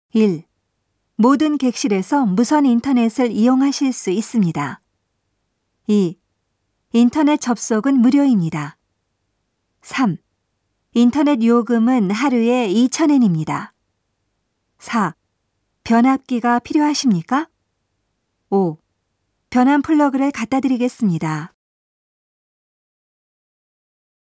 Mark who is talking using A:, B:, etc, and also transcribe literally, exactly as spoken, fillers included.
A: 일. 모든 객실에서 무선 인터넷을 이용하실 수 있습니다. 이. 인터넷 접속은 무료입니다. 삼. 인터넷 요금은 하루에 이천 엔입니다. 사. 변압기가 필요하십니까? 오. 변환 플러그를 갖다 드리겠습니다.